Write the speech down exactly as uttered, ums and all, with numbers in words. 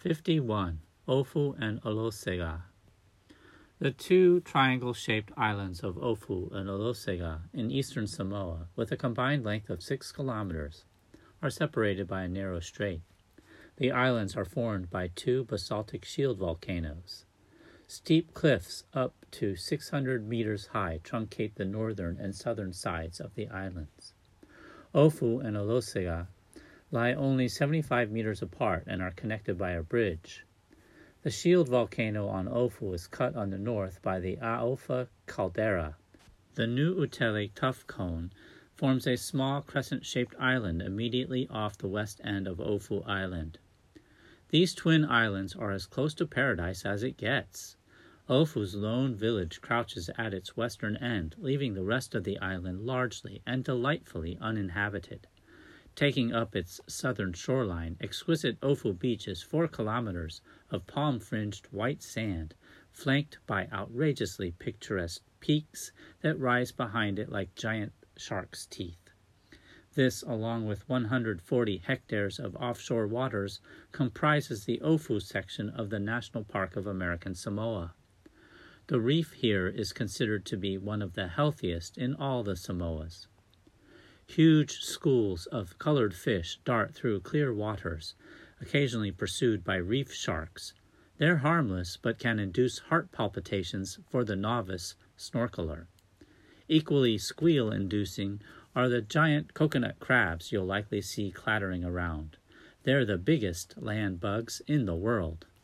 fifty-one. Ofu and Olosega. The two triangle-shaped islands of Ofu and Olosega in eastern Samoa, with a combined length of six kilometers, are separated by a narrow strait. The islands are formed by two basaltic shield volcanoes. Steep cliffs up to six hundred meters high truncate the northern and southern sides of the islands. Ofu and Olosega lie only seventy-five meters apart and are connected by a bridge. The shield volcano on Ofu is cut on the north by the Aofa caldera. The New Utele tuff cone forms a small crescent-shaped island immediately off the west end of Ofu Island. These twin islands are as close to paradise as it gets. Ofu's lone village crouches at its western end, leaving the rest of the island largely and delightfully uninhabited. Taking up its southern shoreline, exquisite Ofu Beach is four kilometers of palm-fringed white sand, flanked by outrageously picturesque peaks that rise behind it like giant shark's teeth. This, along with one hundred forty hectares of offshore waters, comprises the Ofu section of the National Park of American Samoa. The reef here is considered to be one of the healthiest in all the Samoas. Huge schools of colored fish dart through clear waters, occasionally pursued by reef sharks. They're harmless, but can induce heart palpitations for the novice snorkeler. Equally squeal-inducing are the giant coconut crabs you'll likely see clattering around. They're the biggest land bugs in the world.